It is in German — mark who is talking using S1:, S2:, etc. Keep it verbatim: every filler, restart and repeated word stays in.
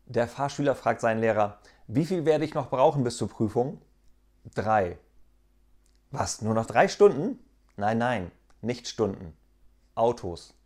S1: Der Fahrschüler fragt seinen Lehrer: Wie viel werde ich noch brauchen bis zur Prüfung? Drei. Was, nur noch drei Stunden? Nein, nein, nicht Stunden. Autos.